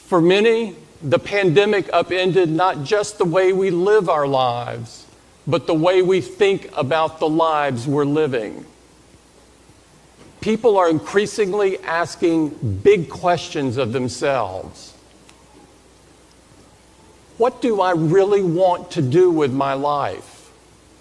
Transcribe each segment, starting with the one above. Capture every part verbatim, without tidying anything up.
For many, the pandemic upended not just the way we live our lives, but the way we think about the lives we're living. People are increasingly asking big questions of themselves. What do I really want to do with my life?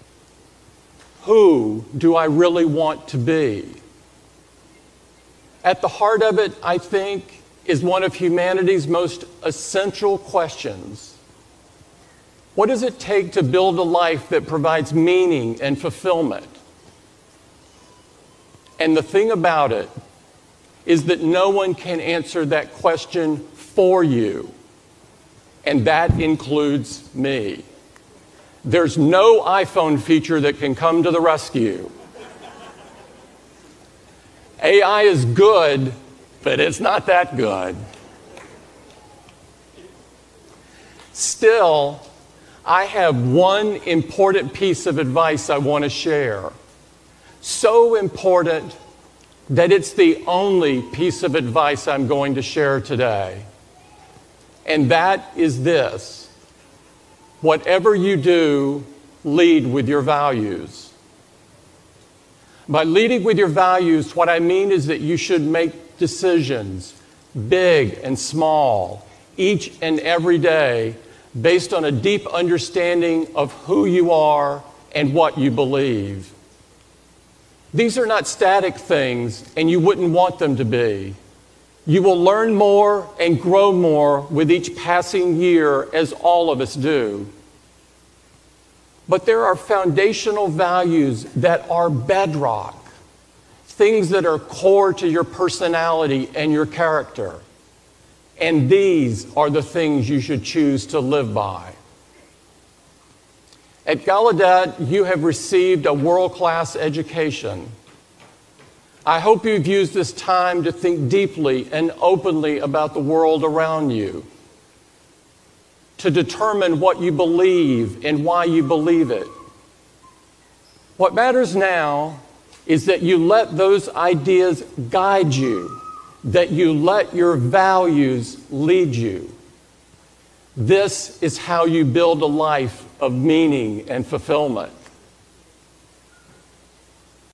Who do I really want to be? At the heart of it, I think, is one of humanity's most essential questions. What does it take to build a life that provides meaning and fulfillment? And the thing about it is that no one can answer that question for you, and that includes me. There's no iPhone feature that can come to the rescue. A I is good, but it's not that good. Still, I have one important piece of advice I want to share. So important that it's the only piece of advice I'm going to share today. And that is this: whatever you do, lead with your values. By leading with your values, what I mean is that you should make decisions, big and small, each and every day, based on a deep understanding of who you are and what you believe. These are not static things, and you wouldn't want them to be. You will learn more and grow more with each passing year, as all of us do. But there are foundational values that are bedrock, things that are core to your personality and your character. And these are the things you should choose to live by. At Gallaudet, you have received a world-class education. I hope you've used this time to think deeply and openly about the world around you, to determine what you believe and why you believe it. What matters now is that you let those ideas guide you, that you let your values lead you. This is how you build a life of meaning and fulfillment.